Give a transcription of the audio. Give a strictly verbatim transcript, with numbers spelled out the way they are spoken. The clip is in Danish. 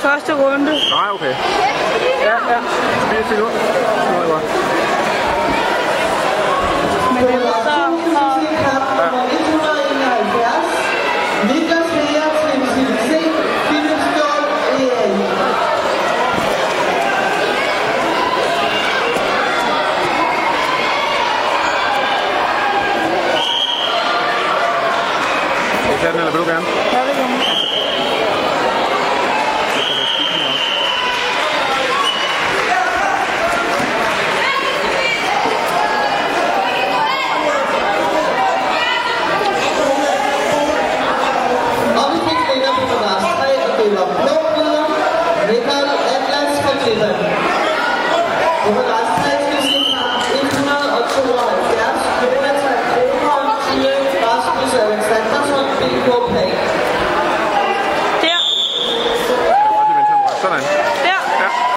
første runde. Nej, okay. Ja, ja. fire sekunder. Det var godt. Men det er så... Niklas Heer til C D C, Philip Ståhl, E A. Skal vi tage den, eller vil du gerne?